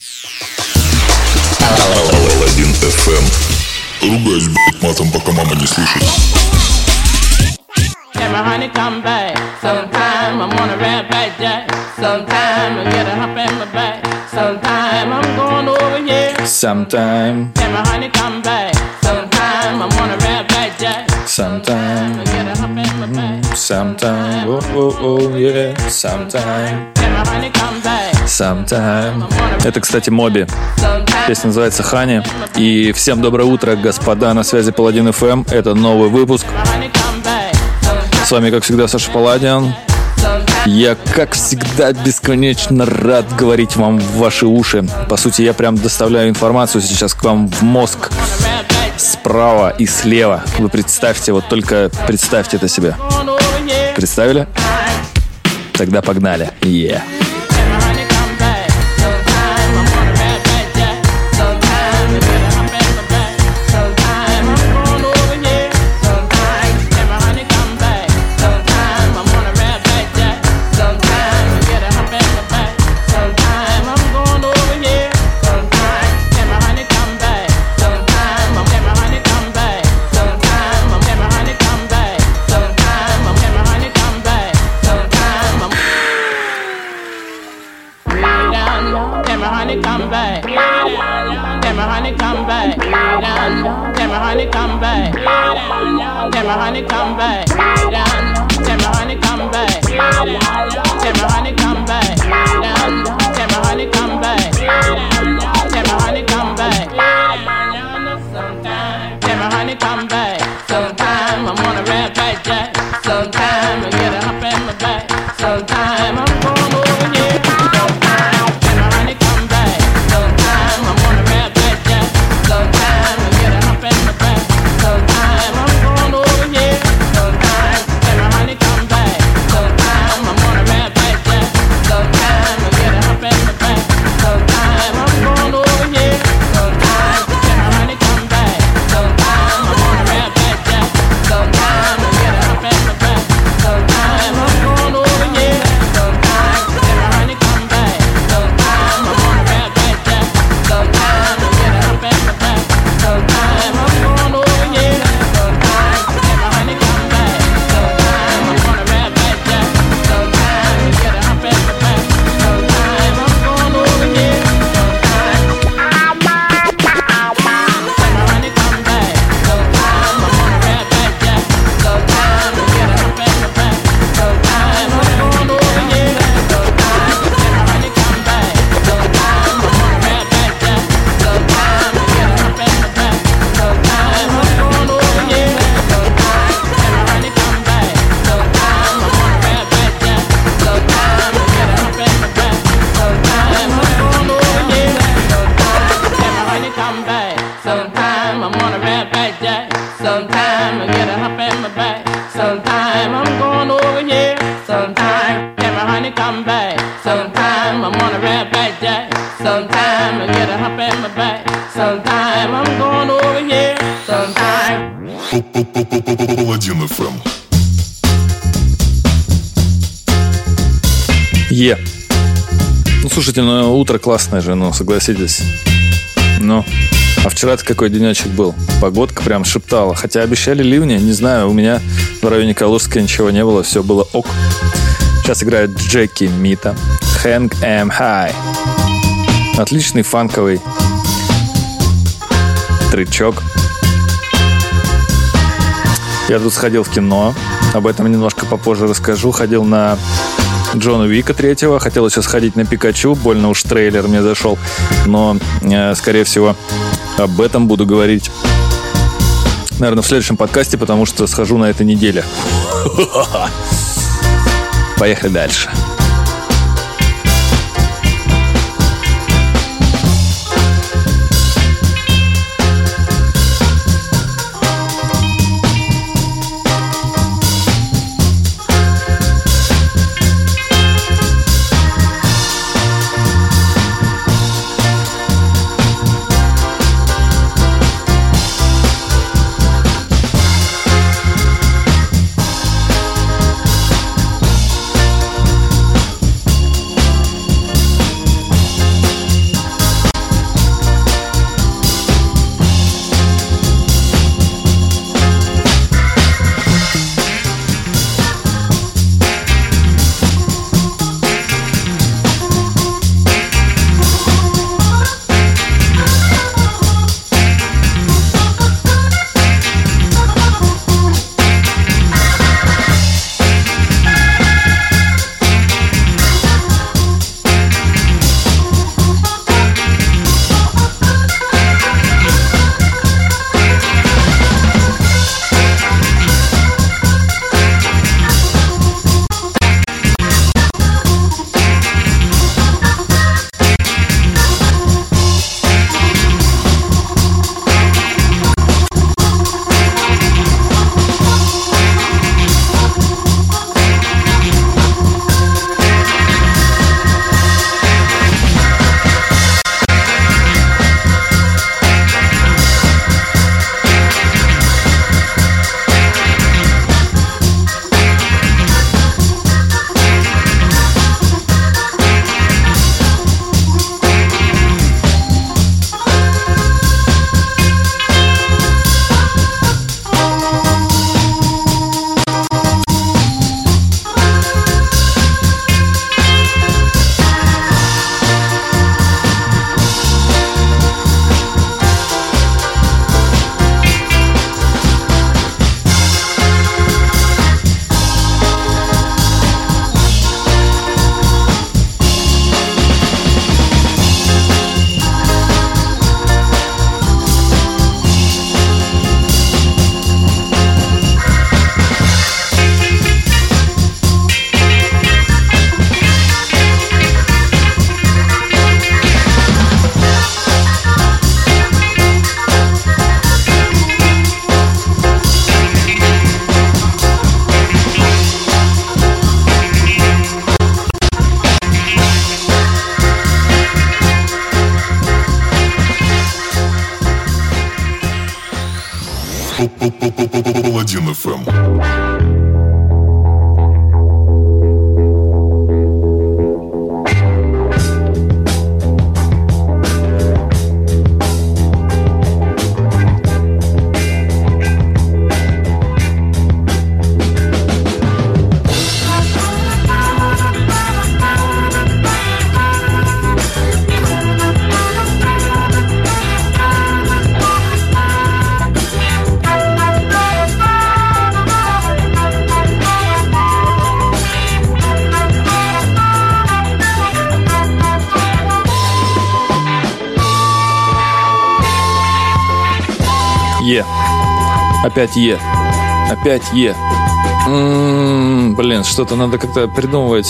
Алладин FM. Ругаюсь, блять, матом, пока мама не слышит. Can my honey come back? Sometime I'm on a red back jack. Sometime I get a hump in my back. Sometime I'm going over here. Sometime. Can my honey come back? Sometime I'm on a red back jack. Sometime. I get a hump in my back. Sometime. Oh, oh, oh, yeah. Sometime. Can my honey come back? Sometime. Это, кстати, Моби. Песня называется «Хани». И всем доброе утро, господа, на связи Паладин FM. Это новый выпуск. С вами, как всегда, Саша Паладин. Я, как всегда, бесконечно рад говорить вам в ваши уши. По сути, я прям доставляю информацию сейчас к вам в мозг справа и слева. Вы представьте, вот только представьте это себе. Представили? Тогда погнали. Yeah. Паладин FM. Ну, слушайте, ну утро классное же, ну, согласитесь. Ну, а вчера-то какой денечек был. Погодка прям шептала. Хотя обещали ливни, не знаю, у меня в районе Калужска ничего не было, все было ок. Сейчас играет Джеки Мита. Hang Em High. Отличный фанковый тречок. Я тут сходил в кино. Об этом немножко попозже расскажу. Ходил на Джона Уика 3. Хотел еще сходить на Пикачу. Больно уж трейлер мне зашел. Но, скорее всего, об этом буду говорить, наверное, в следующем подкасте, потому что схожу на этой неделе. Поехали дальше. Паладин FM. Опять Опять блин, что-то надо как-то придумывать,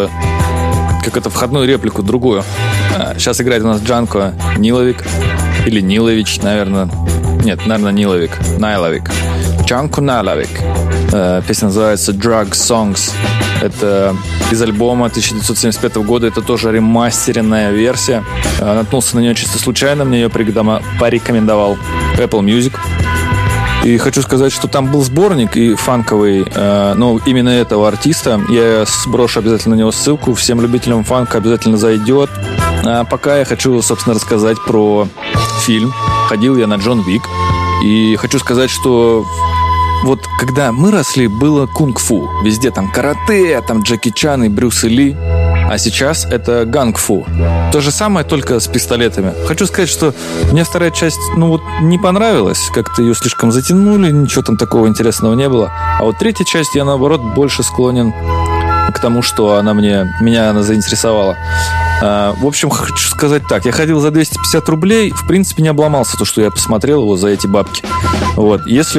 как это, входную реплику другую. Сейчас играет у нас Джанко Ниловик. Или Нилович, наверное. Нет, наверное, Найловик. Джанко Найловик. Песня называется Drug Songs. Это из альбома 1975 года. Это тоже ремастеренная версия. Наткнулся на нее чисто случайно. Мне ее порекомендовал Apple Music. И хочу сказать, что там был сборник и фанковый, но именно этого артиста. Я сброшу обязательно на него ссылку. Всем любителям фанка обязательно зайдет. А пока я хочу, собственно, рассказать про фильм. Ходил я на Джон Уик. И хочу сказать, что вот когда мы росли, было кунг-фу. Везде там карате, там Джеки Чан и Брюс Ли. А сейчас это ганг-фу. То же самое, только с пистолетами. Хочу сказать, что мне вторая часть, не понравилась. Как-то ее слишком затянули, ничего там такого интересного не было. А вот третья часть, я, наоборот, больше склонен к тому, что меня она заинтересовала. В общем, хочу сказать так. Я ходил за 250 рублей. В принципе, не обломался то, что я посмотрел его за эти бабки. Вот. Если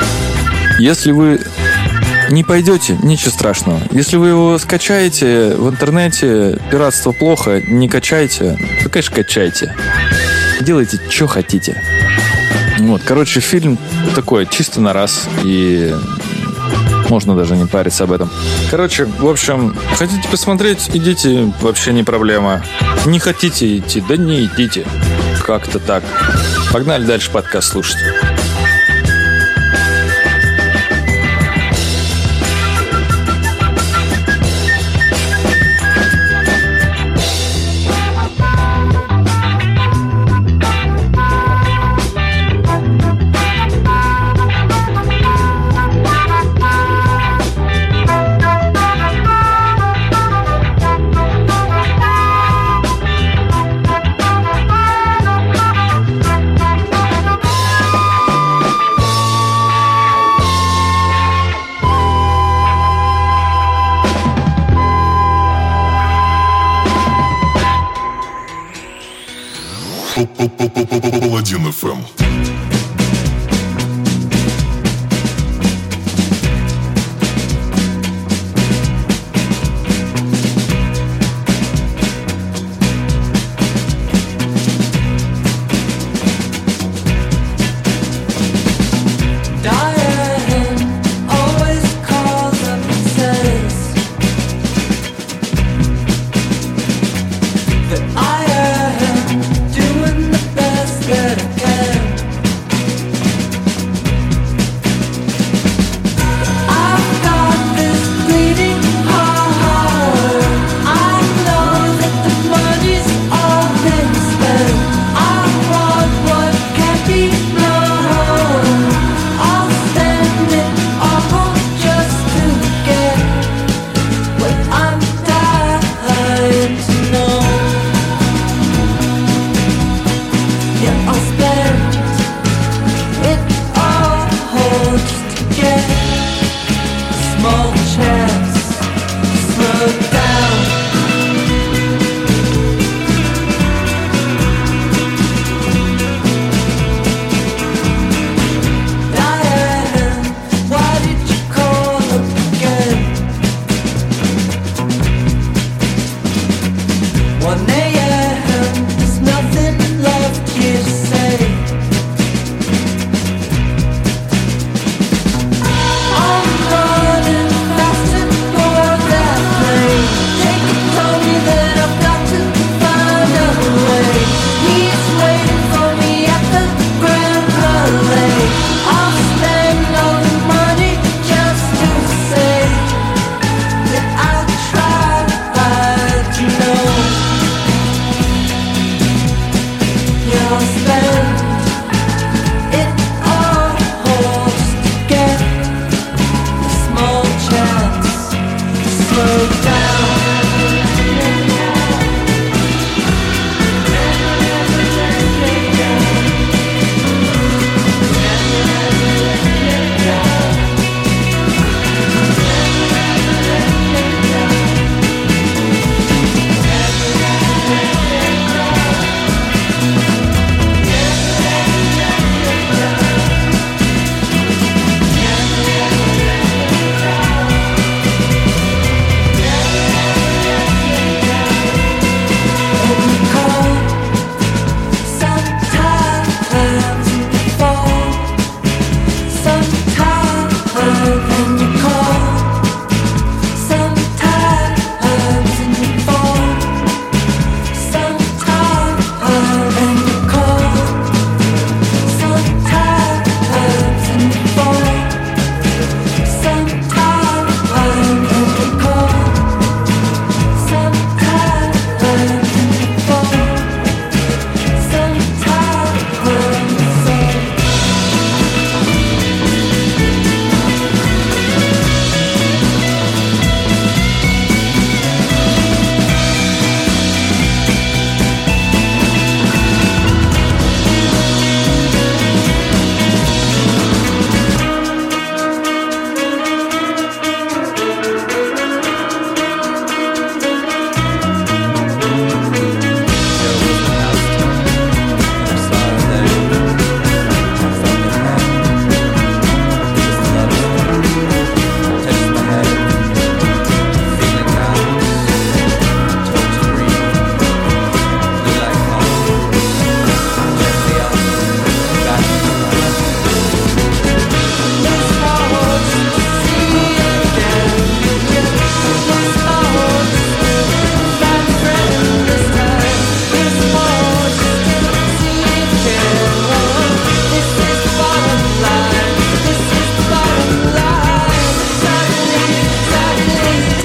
вы не пойдете, ничего страшного. Если вы его скачаете в интернете, пиратство плохо, не качайте. Ну, конечно, качайте. Делайте, что хотите. Вот, короче, фильм такой, чисто на раз. И можно даже не париться об этом. Короче, в общем, хотите посмотреть, идите, вообще не проблема. Не хотите идти, да не идите. Как-то так. Погнали дальше подкаст слушать. Паладин FM. That I am doing the best that I can.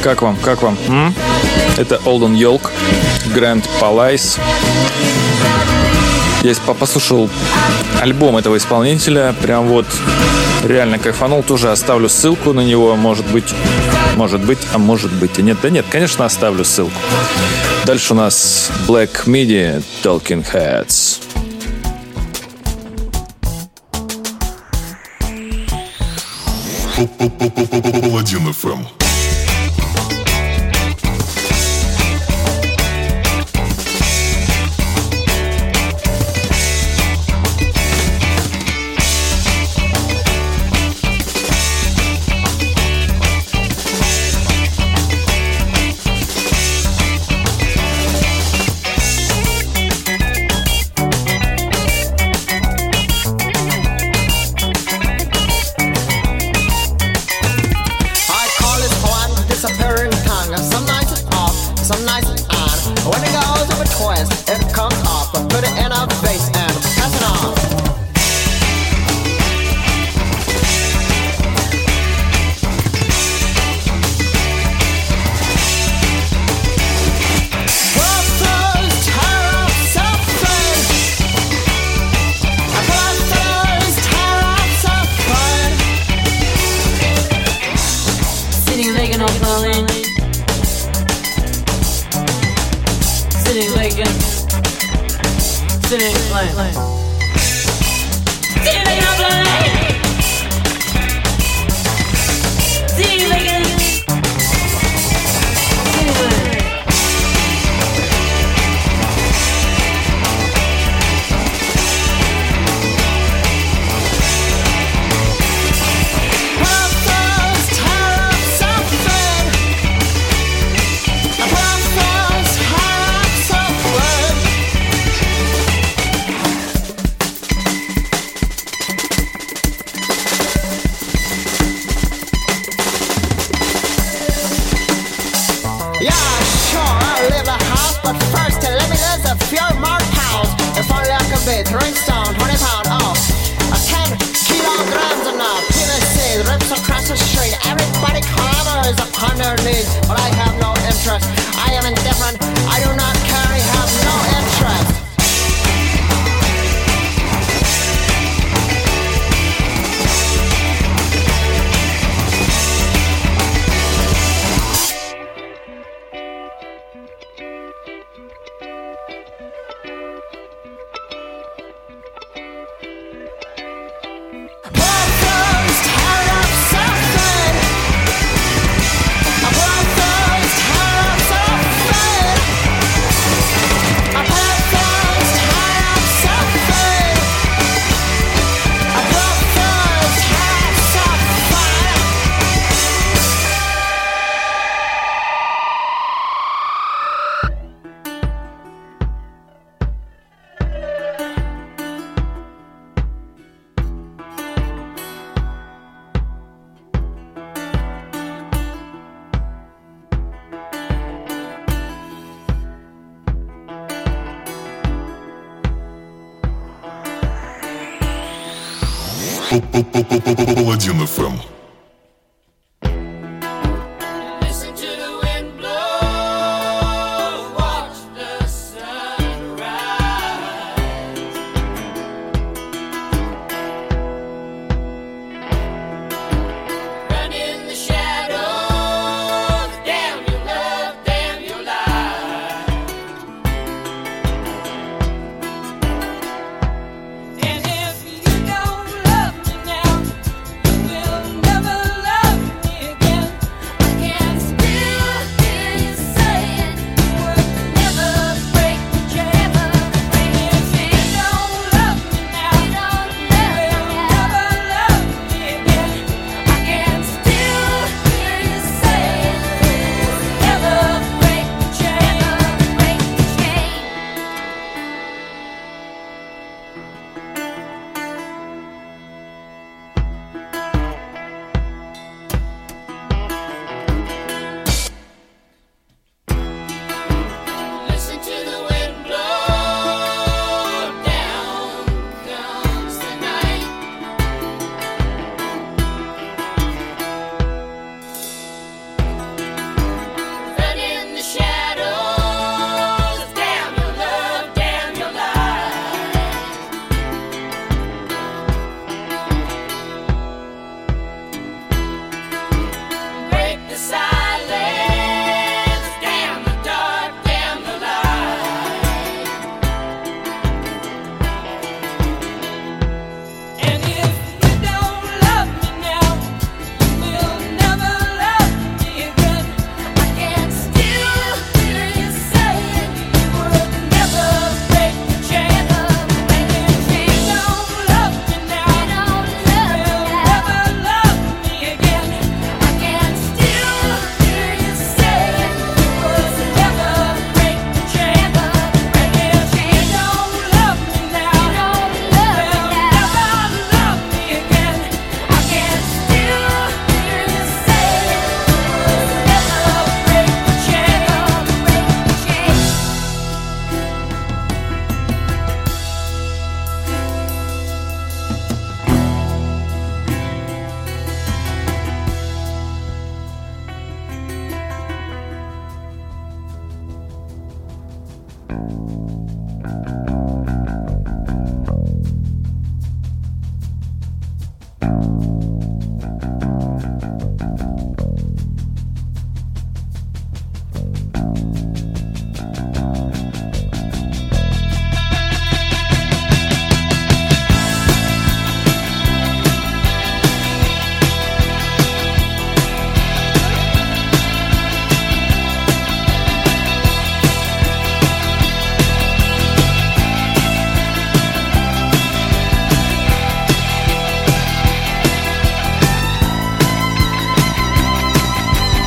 Как вам? Это Олден Йолк, Grand Palais. Я послушал альбом этого исполнителя, прям вот реально кайфанул. Тоже оставлю ссылку на него, может быть, а может быть и нет. Да нет, конечно, оставлю ссылку. Дальше у нас Black Midi, Talking Heads. Паладин FM. Паладин FM.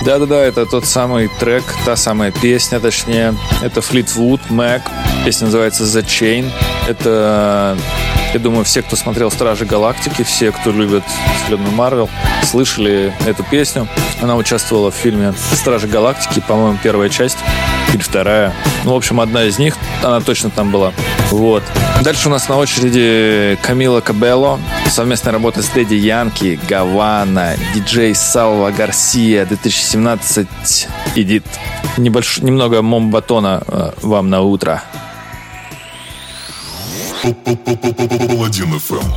Да-да-да, это тот самый трек, та самая песня, точнее. Это Fleetwood Mac. Песня называется The Chain. Это, я думаю, все, кто смотрел «Стражи Галактики», все, кто любит вселенную Марвел, слышали эту песню. Она участвовала в фильме «Стражи Галактики», по-моему, первая часть или вторая. Ну, в общем, одна из них, она точно там была. Вот. Дальше у нас на очереди Камила Кабелло. Совместная работа с Дэдди Янки, Гавана, диджей Салва Гарсия, 2017 эдит. Немного Момбатона вам на утро. Паладин FM.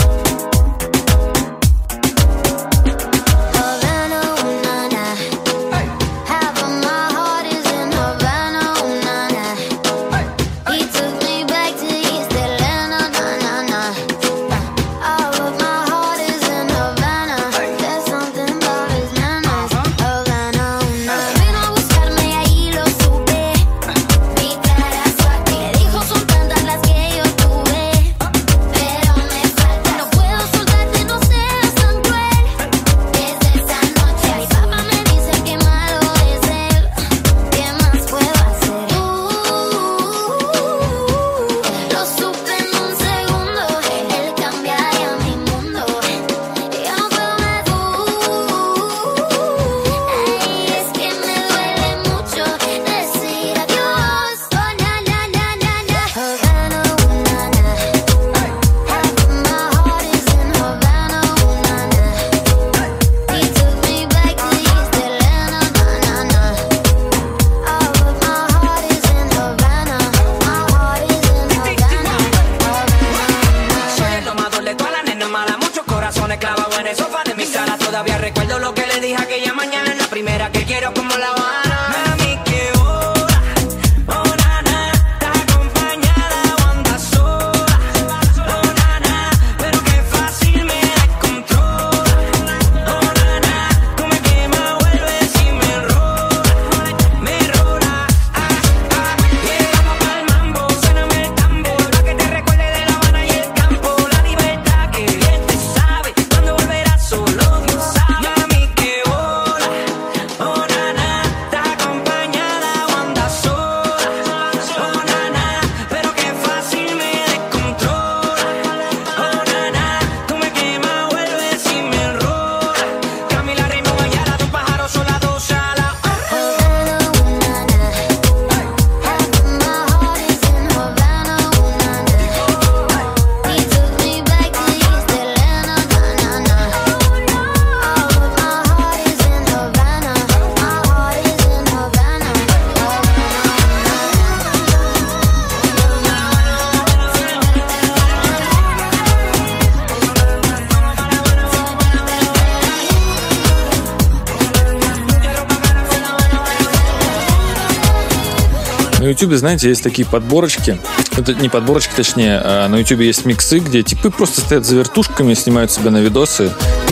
На Ютубе, знаете, есть такие подборочки. Это не подборочки, точнее. А на Ютубе есть миксы, где типы просто стоят за вертушками, снимают себя на видосы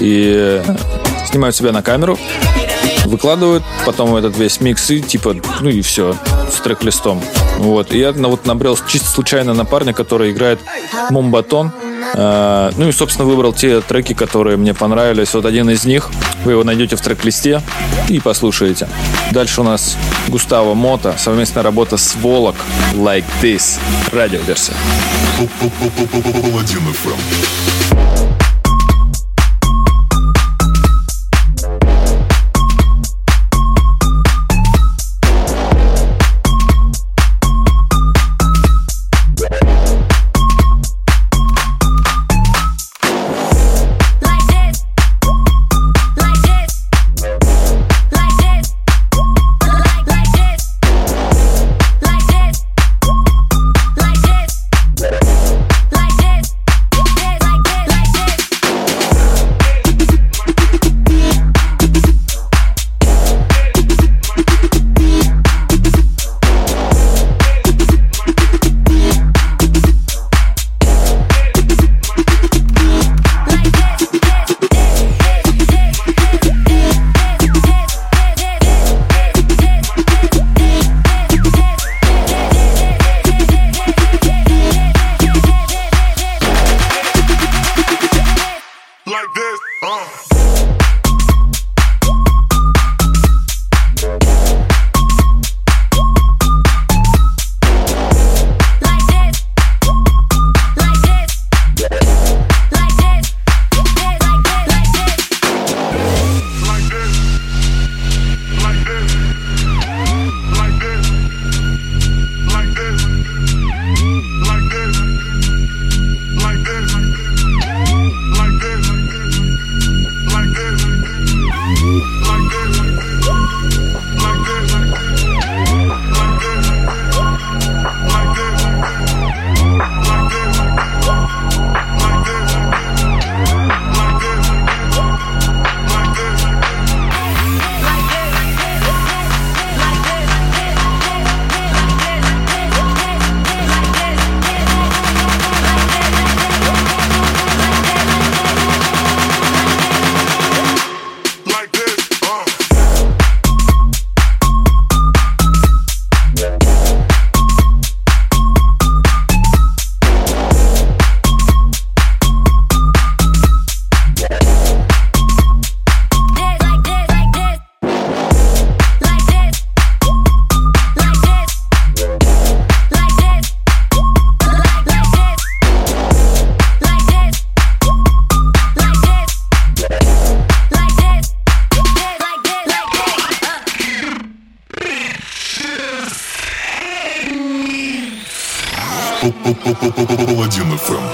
и снимают себя на камеру, выкладывают потом этот весь микс и типа, ну и все, с трек-листом. Вот. И я вот набрел чисто случайно на парня, который играет Момбатон. Ну и, собственно, выбрал те треки, которые мне понравились. Вот один из них, вы его найдете в трек-листе и послушаете. Дальше у нас Густаво Мота, совместная работа с Волок, Like This, радиоверсия. Паладин FM. Паладин FM.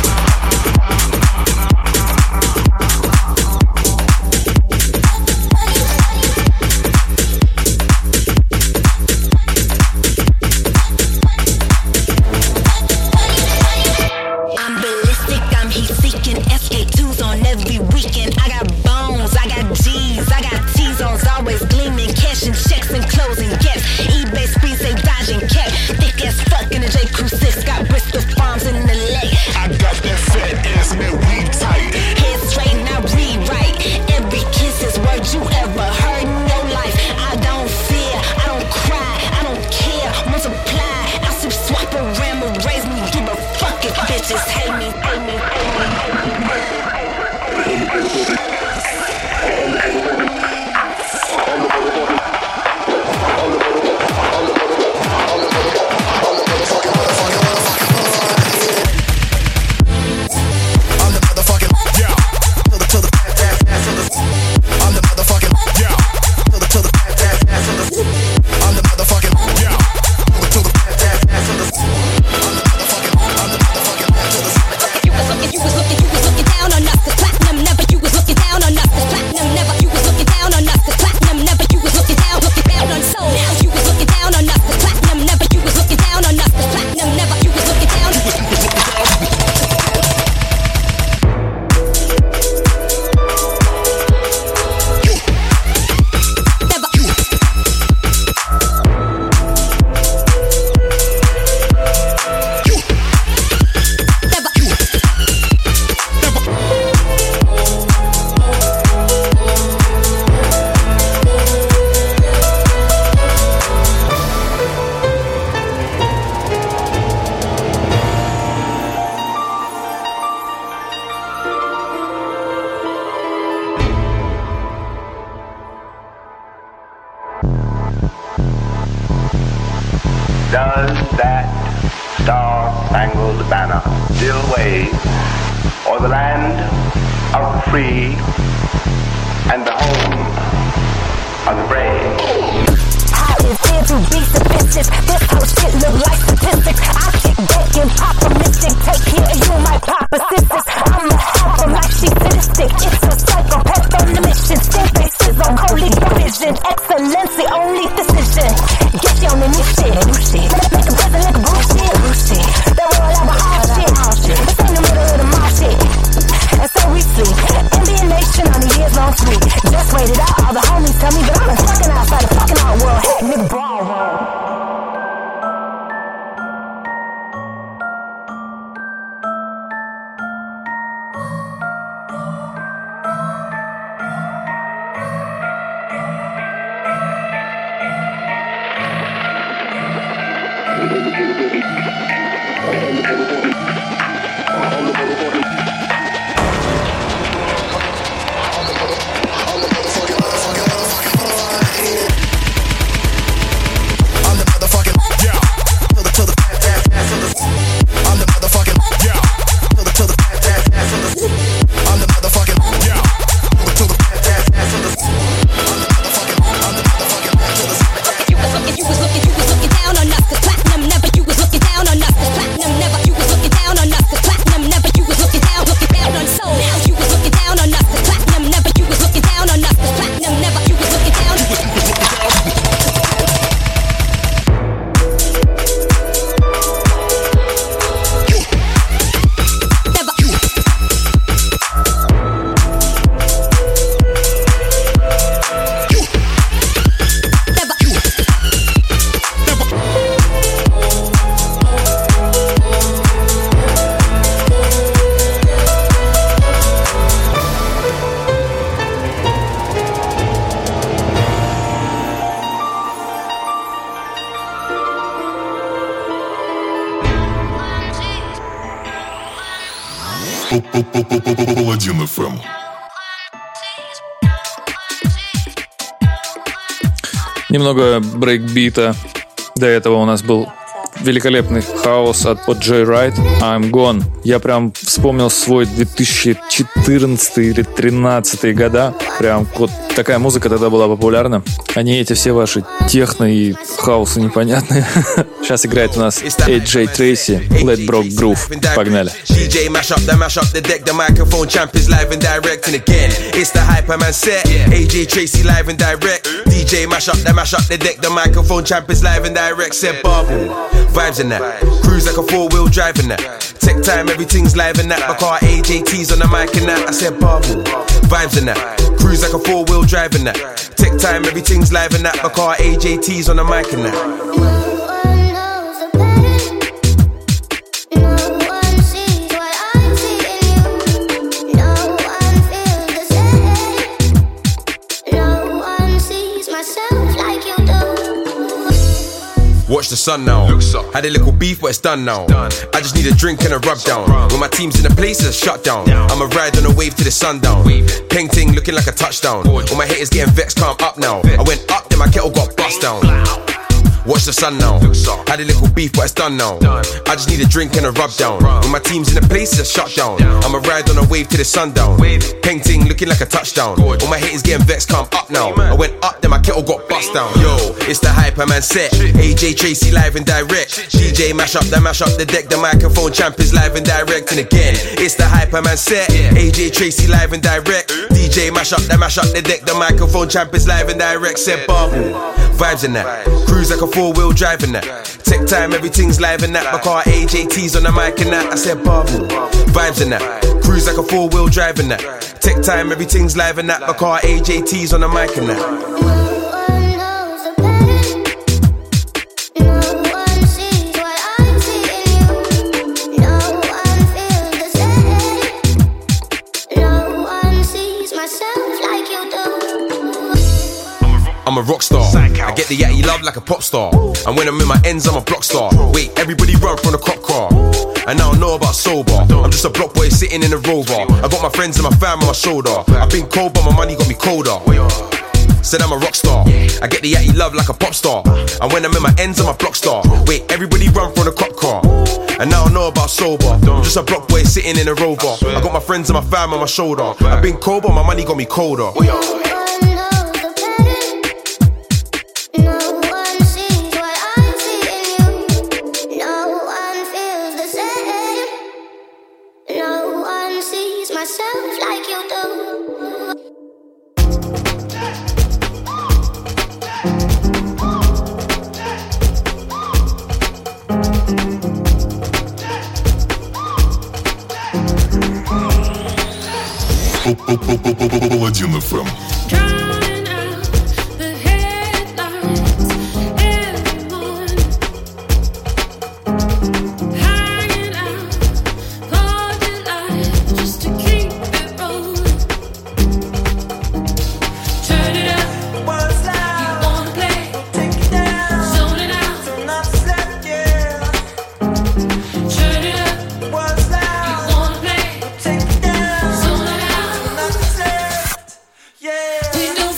Does that star-spangled banner still wave o'er the land of the free and the home of the brave? How it feels to be submissive. This whole shit look like statistics. I kick back and pop a mystic. Take care of you, my pop assistants. I'ma help them like she's sadistic. It's a psychopath on the mission. State bases on holy vision. Excellency, only decision. Get you on the new shit. Make a present like a bullshit. They roll out my hard shit. It's in the middle of the mall shit. And so we sleep. NBA Nation on a years long sweep. Just waited out. All the homies tell me that I'm fucking outside the fucking art world. Heck, nigga, ballroom. Паладин FM. Немного брейкбита. До этого у нас был великолепный хаос от Joyride, I'm Gone. Я прям вспомнил свой 2014 или 2013 года. Прям вот Такая музыка тогда была популярна. А не эти все ваши техно и хаусы непонятные. Сейчас играет у нас AJ Tracey, Let Broke Groove. Погнали. DJ mash up the deck, the microphone champ is live and direct. And again, it's the Hyperman set. AJ Tracey live and direct. DJ mash up the deck, the microphone champ is live and direct. Said Bubble, vibes in that. Cruise like a 4-wheel drive in that. Tech time, everything's live in that. My car AJT's on the mic and that. I said Bubble, vibes in that. Cruise like a 4-wheel drive in that. Tech time, everything's live in that. My car AJT's on the mic and that. Watch the sun now. Had a little beef, but it's done now. I just need a drink and a rub down. When my team's in the place, it's shut down. I'ma ride on a wave to the sundown. Peng ting looking like a touchdown. All my haters getting vexed, calm up now. I went up, then my kettle got bust down. Watch the sun now. Had a little beef, but it's done now. I just need a drink and a rub down. When my team's in the place, it's shut down. I'ma ride on a wave to the sundown. Peng ting looking like a touchdown. All my haters getting vexed, calm up now. I went up, then my kettle got bust down. Yo, it's the Hyperman set. AJ Tracey live and direct. DJ mash up the deck, the microphone champ is live and direct. And again, it's the Hyperman set. AJ Tracey live and direct. DJ mash up the deck, the microphone champ is live and direct. Said Bubble, vibes in that. Cruise like a 4-wheel drive in that. Tech time, everything's live in that. My car AJT's on the mic and that. I said Bubble, vibes in that. Cruise like a 4-wheel drive in that. Tech time, everything's live in that. My car AJT's on the mic and that. I'm a rock star. I get the yatty love like a pop star. And when I'm in my ends, I'm a block star. Wait, everybody run from the cop car. And I don't know about sober. I'm just a block boy sitting in a Rover. I got my friends and my fam on my shoulder. I've been cold, but my money got me colder. Said I'm a rock star. I get the yatty love like a pop star. And when I'm in my ends, I'm a block star. Wait, everybody run from the cop car. And I don't know about sober. I'm just a block boy sitting in a Rover. I got my friends and my fam on my shoulder. I've been cold, but my money got me colder. Паладин FM. We don't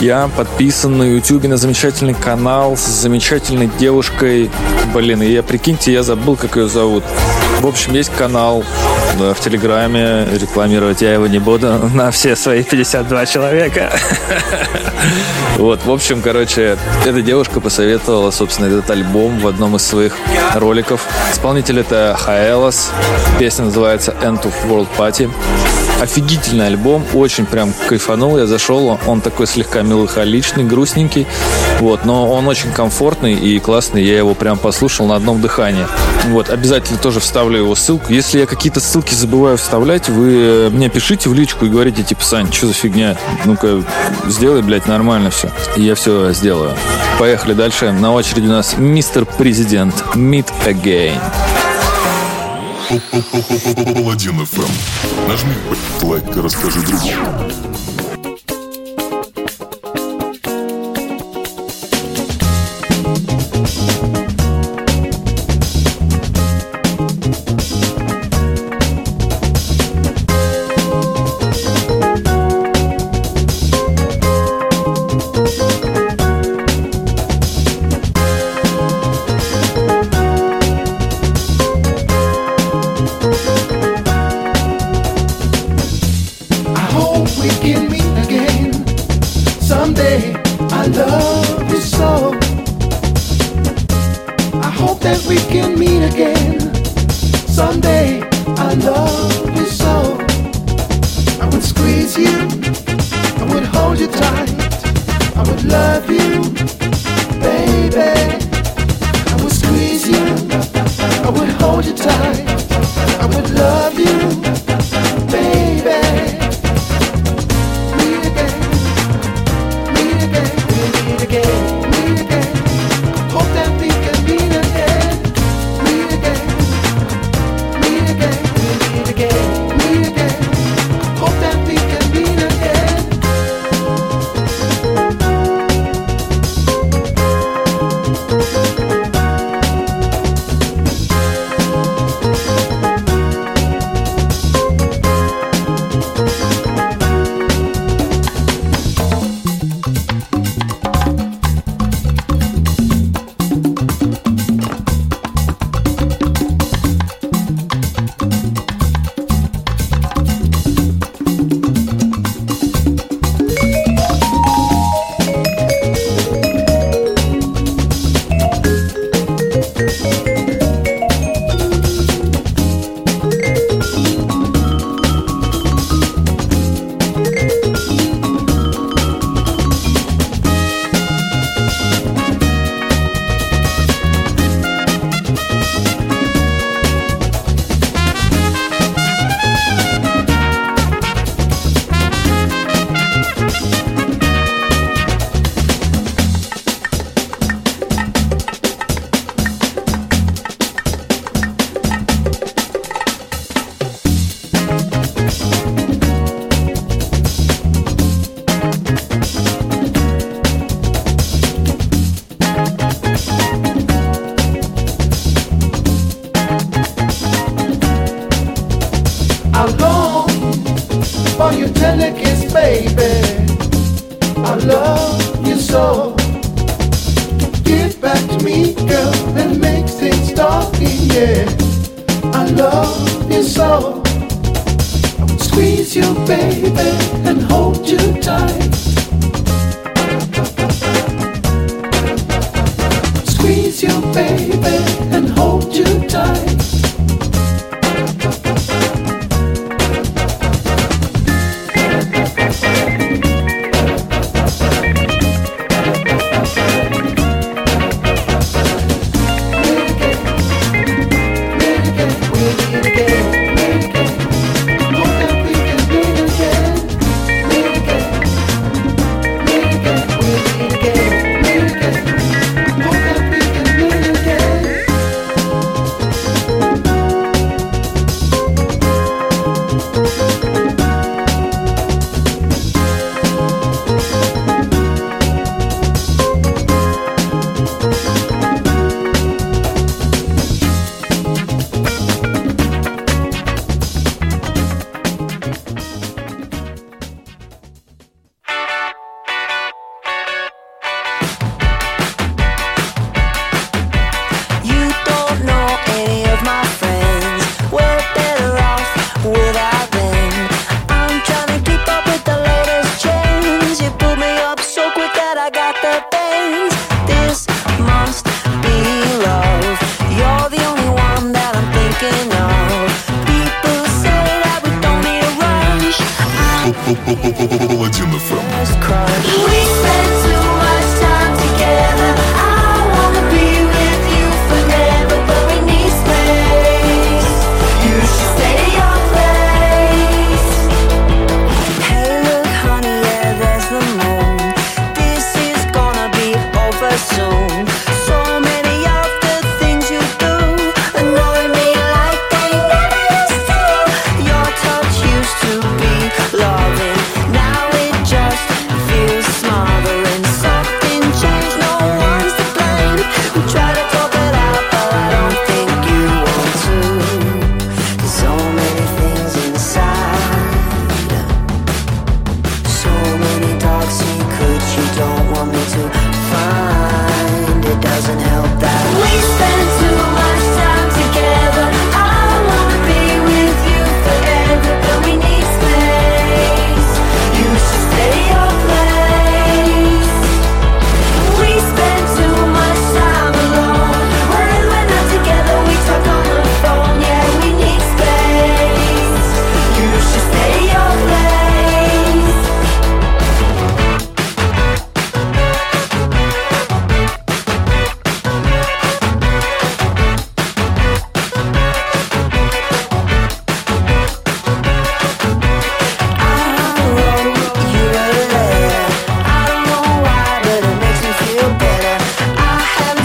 Я подписан на YouTube на замечательный канал с замечательной девушкой. Блин, и прикиньте, я забыл, как ее зовут. В общем, есть канал, да, в Телеграме. Рекламировать я его не буду на все свои 52 человека. Вот, в общем, короче, эта девушка посоветовала, собственно, этот альбом в одном из своих роликов. Исполнитель это Хаэлос. Песня называется End of World Party. Офигительный альбом, очень прям кайфанул. Я зашел, он такой слегка меланхоличный, грустненький. Вот, но он очень комфортный и классный. Я его прям послушал на одном дыхании. Вот, обязательно тоже вставлю его ссылку. Если я какие-то ссылки забываю вставлять, вы мне пишите в личку и говорите, типа, Сань, что за фигня? Ну-ка, сделай, блядь, нормально все. И я все сделаю. Поехали дальше. На очереди у нас Мистер Президент. Meet Again. Паладин FM. Нажми лайк и расскажи другим.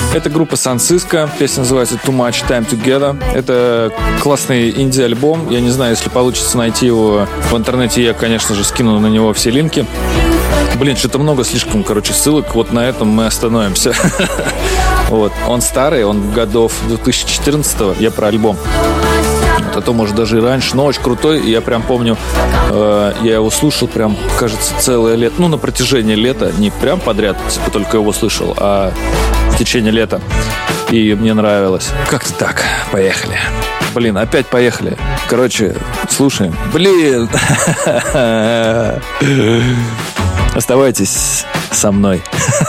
Это группа Сан Сиско, песня называется Too Much Time Together. Это классный инди-альбом. Я не знаю, если получится найти его в интернете, я, конечно же, скину на него все линки. Блин, что-то много слишком, ссылок. Вот на этом мы остановимся. Вот. Он старый, он годов 2014-го. Я про альбом. Вот, а то, может, даже и раньше. Но очень крутой. Я прям помню, я его слушал прям, кажется, целое лето. Ну, на протяжении лета. Не прям подряд, типа, только его слышал, а в течение лета. И мне нравилось. Как-то так. Поехали. Блин, опять поехали. Короче, слушаем. Блин. Оставайтесь со мной.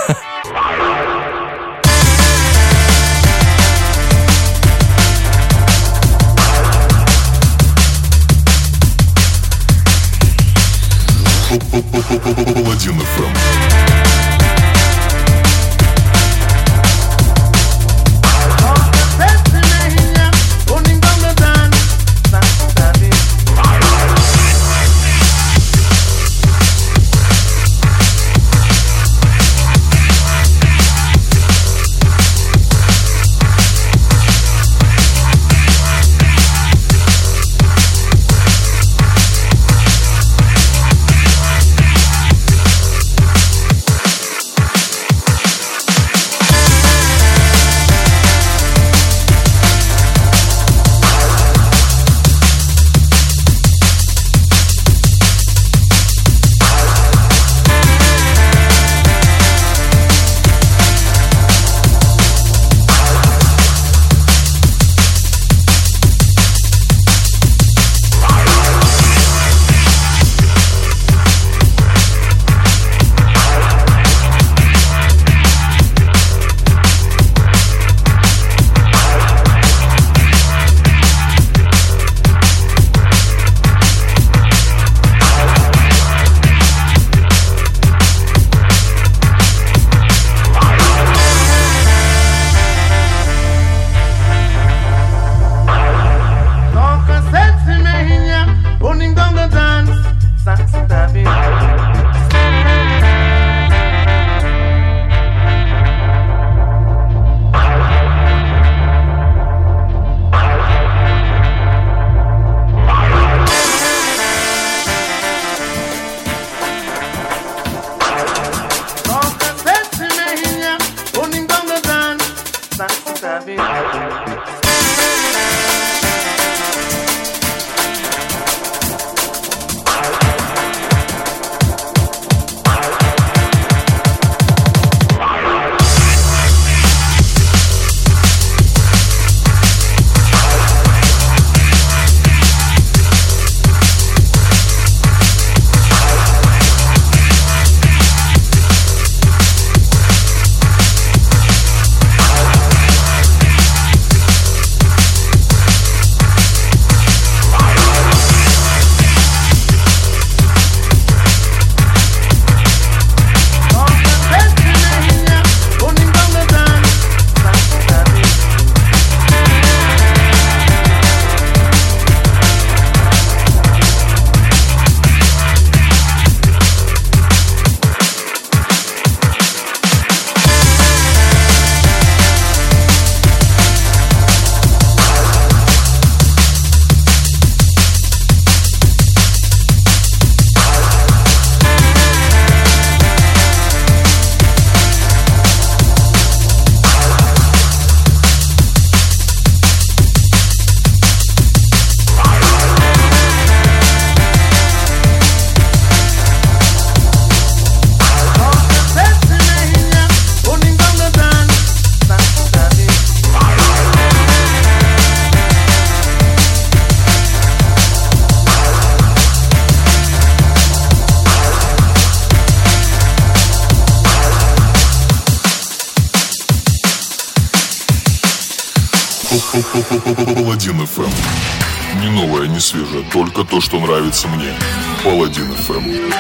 Паладин FM. Паладин FM. Не новое, не свежее, только то, что нравится мне. Паладин FM.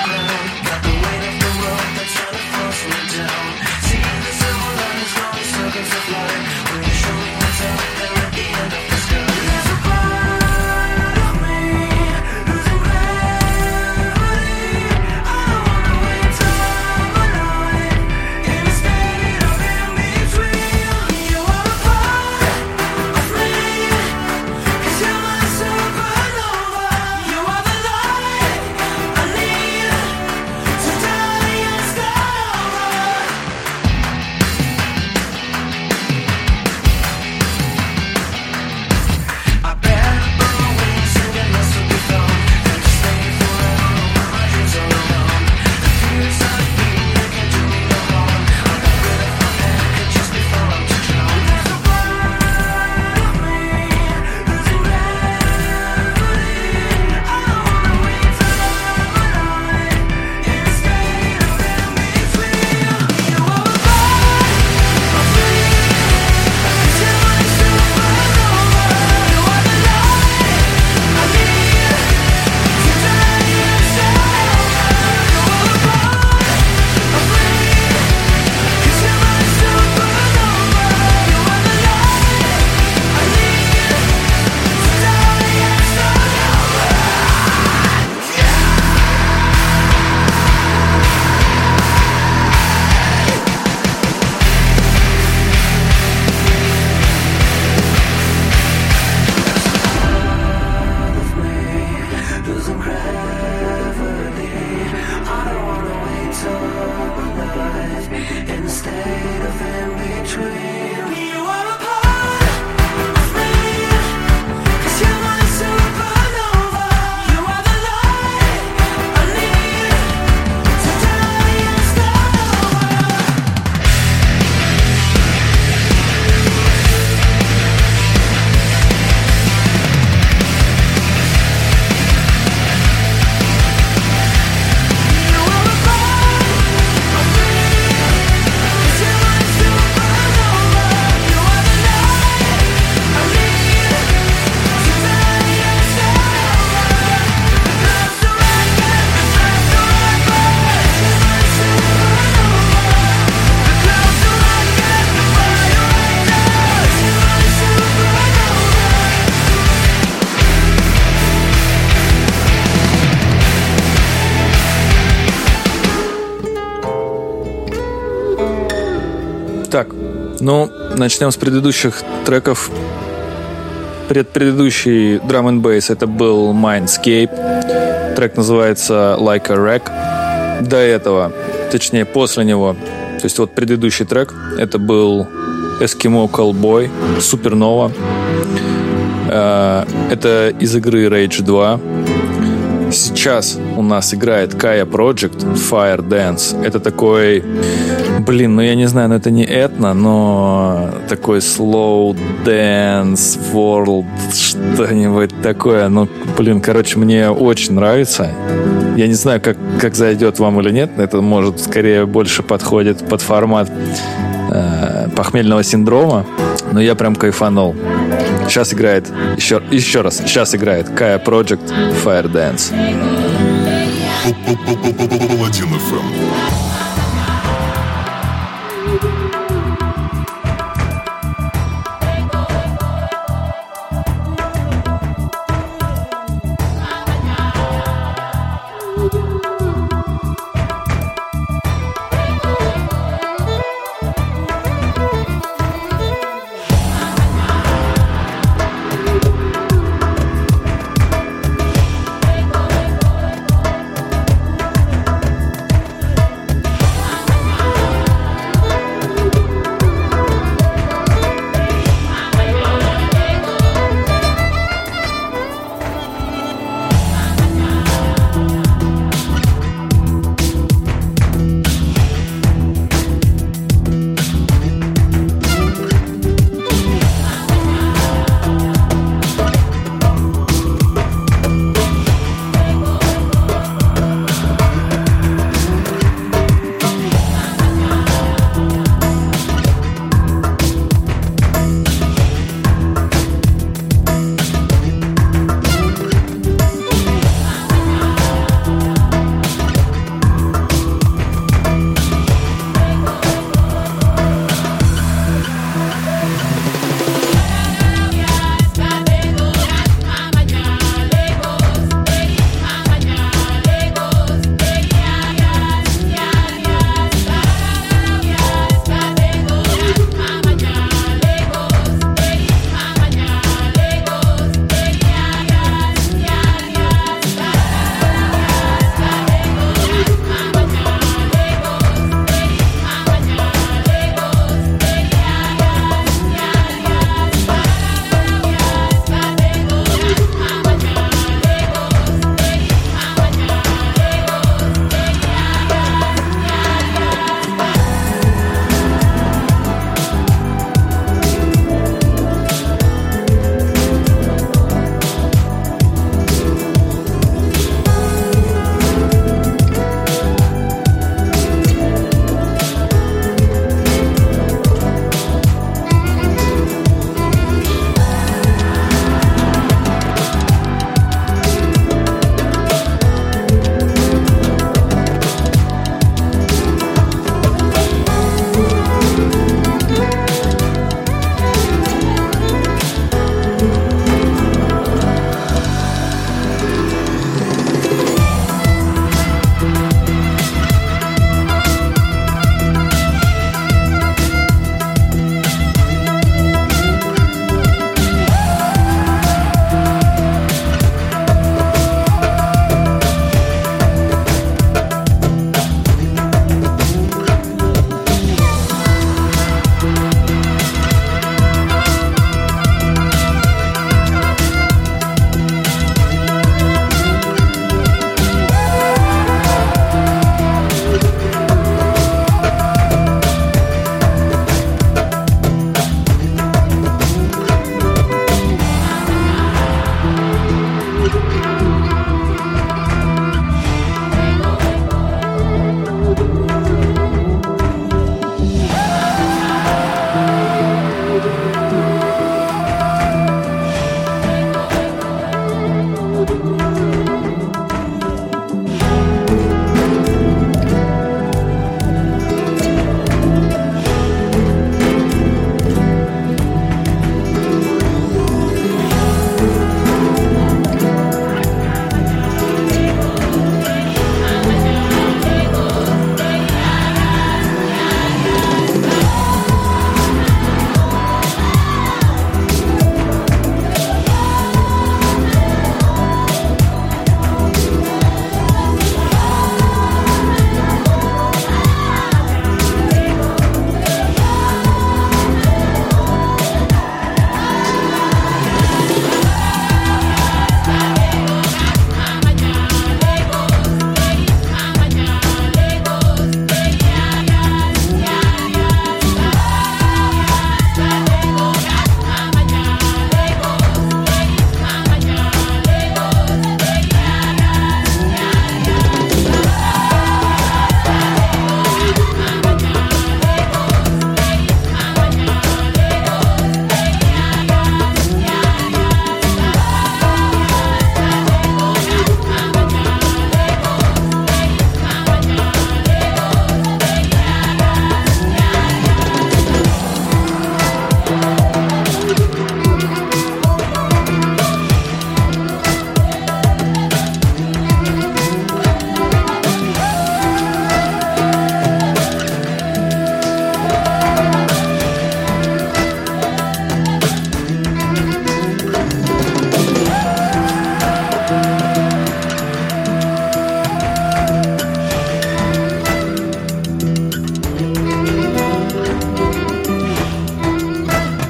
Ну, начнем с предыдущих треков. Предыдущий Drum and Bass это был Mindscape. Трек называется Like a Wreck. До этого, точнее после него, то есть вот предыдущий трек, это был Eskimo Callboy, Supernova. Это из игры Rage 2. Сейчас у нас играет Kaya Project Fire Dance. Это такой, ну я не знаю, это не этно, но такой slow dance world, что-нибудь такое. Короче, мне очень нравится. Я не знаю, как зайдет вам или нет. Это, может, скорее больше подходит под формат похмельного синдрома. Но я прям кайфанул. Сейчас играет, еще раз, сейчас играет Kaya Project Fire Dance. Паладин FM.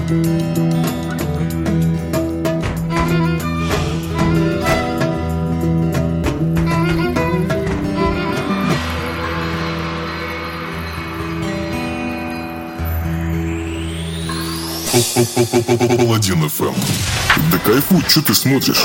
Паладин FM. Да кайфуй, что ты смотришь?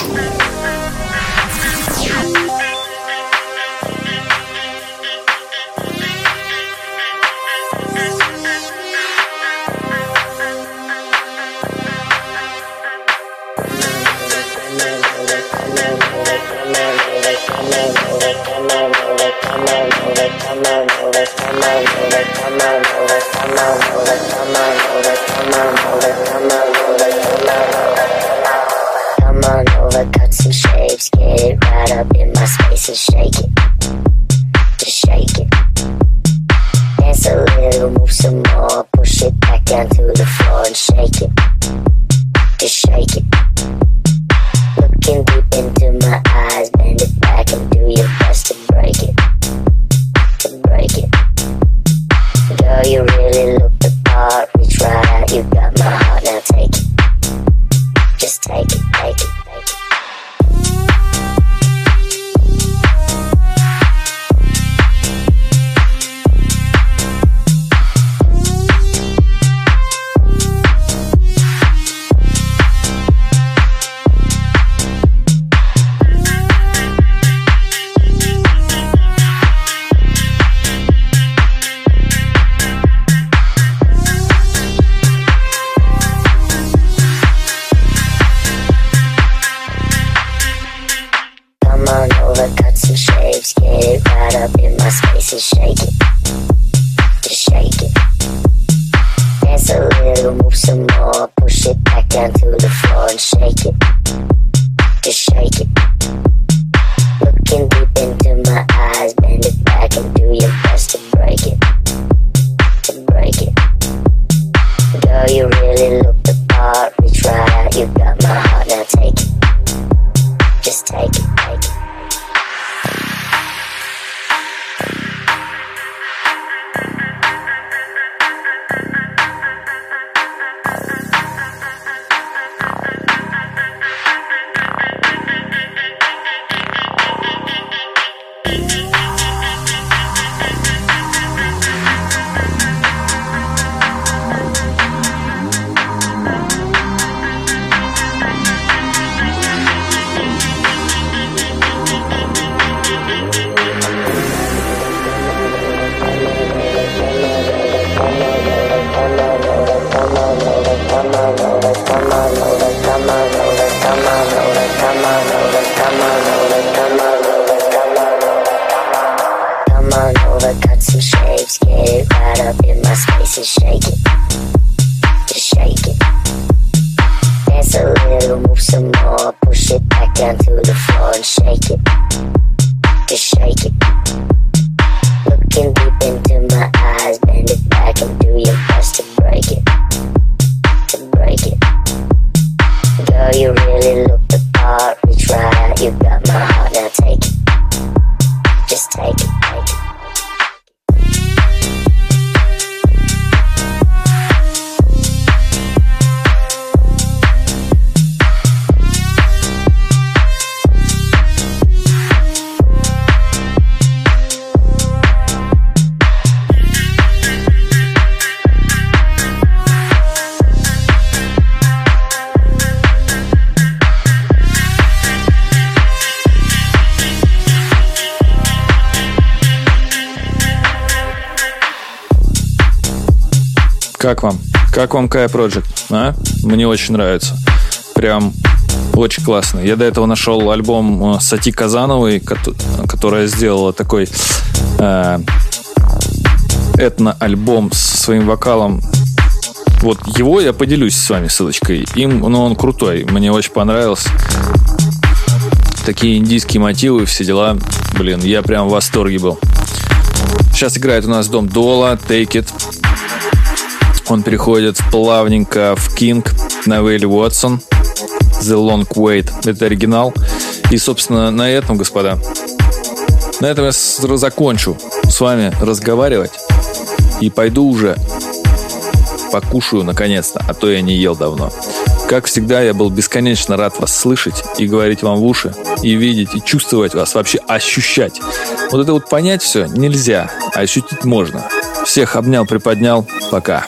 Как вам? Как вам Kaya Project? А? Мне очень нравится. Прям очень классно. Я до этого нашел альбом Сати Казановой, которая сделала такой этно-альбом со своим вокалом. Вот его я поделюсь с вами ссылочкой. Он крутой. Мне очень понравился. Такие индийские мотивы, все дела. Блин, я прям в восторге был. Сейчас играет у нас Дом Дола, Take It. Он переходит плавненько в King на Вейли Уотсон, The Long Wait. Это оригинал. И, собственно, на этом, господа, на этом я закончу с вами разговаривать. И пойду уже покушаю наконец-то, а то я не ел давно. Как всегда, я был бесконечно рад вас слышать и говорить вам в уши, и видеть, и чувствовать вас, вообще ощущать. Вот это вот понять все нельзя, а ощутить можно. Всех обнял, приподнял. Пока.